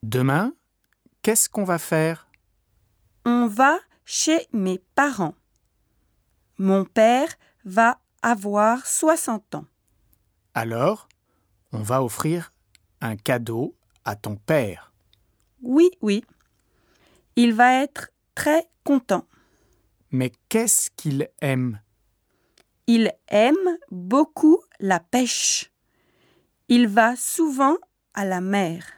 Demain, qu'est-ce qu'on va faire? On va chez mes parents. Mon père va avoir 60 ans. Alors, on va offrir un cadeau à ton père. Oui. Il va être très content. Mais qu'est-ce qu'il aime? Il aime beaucoup la pêche. Il va souvent à la mer.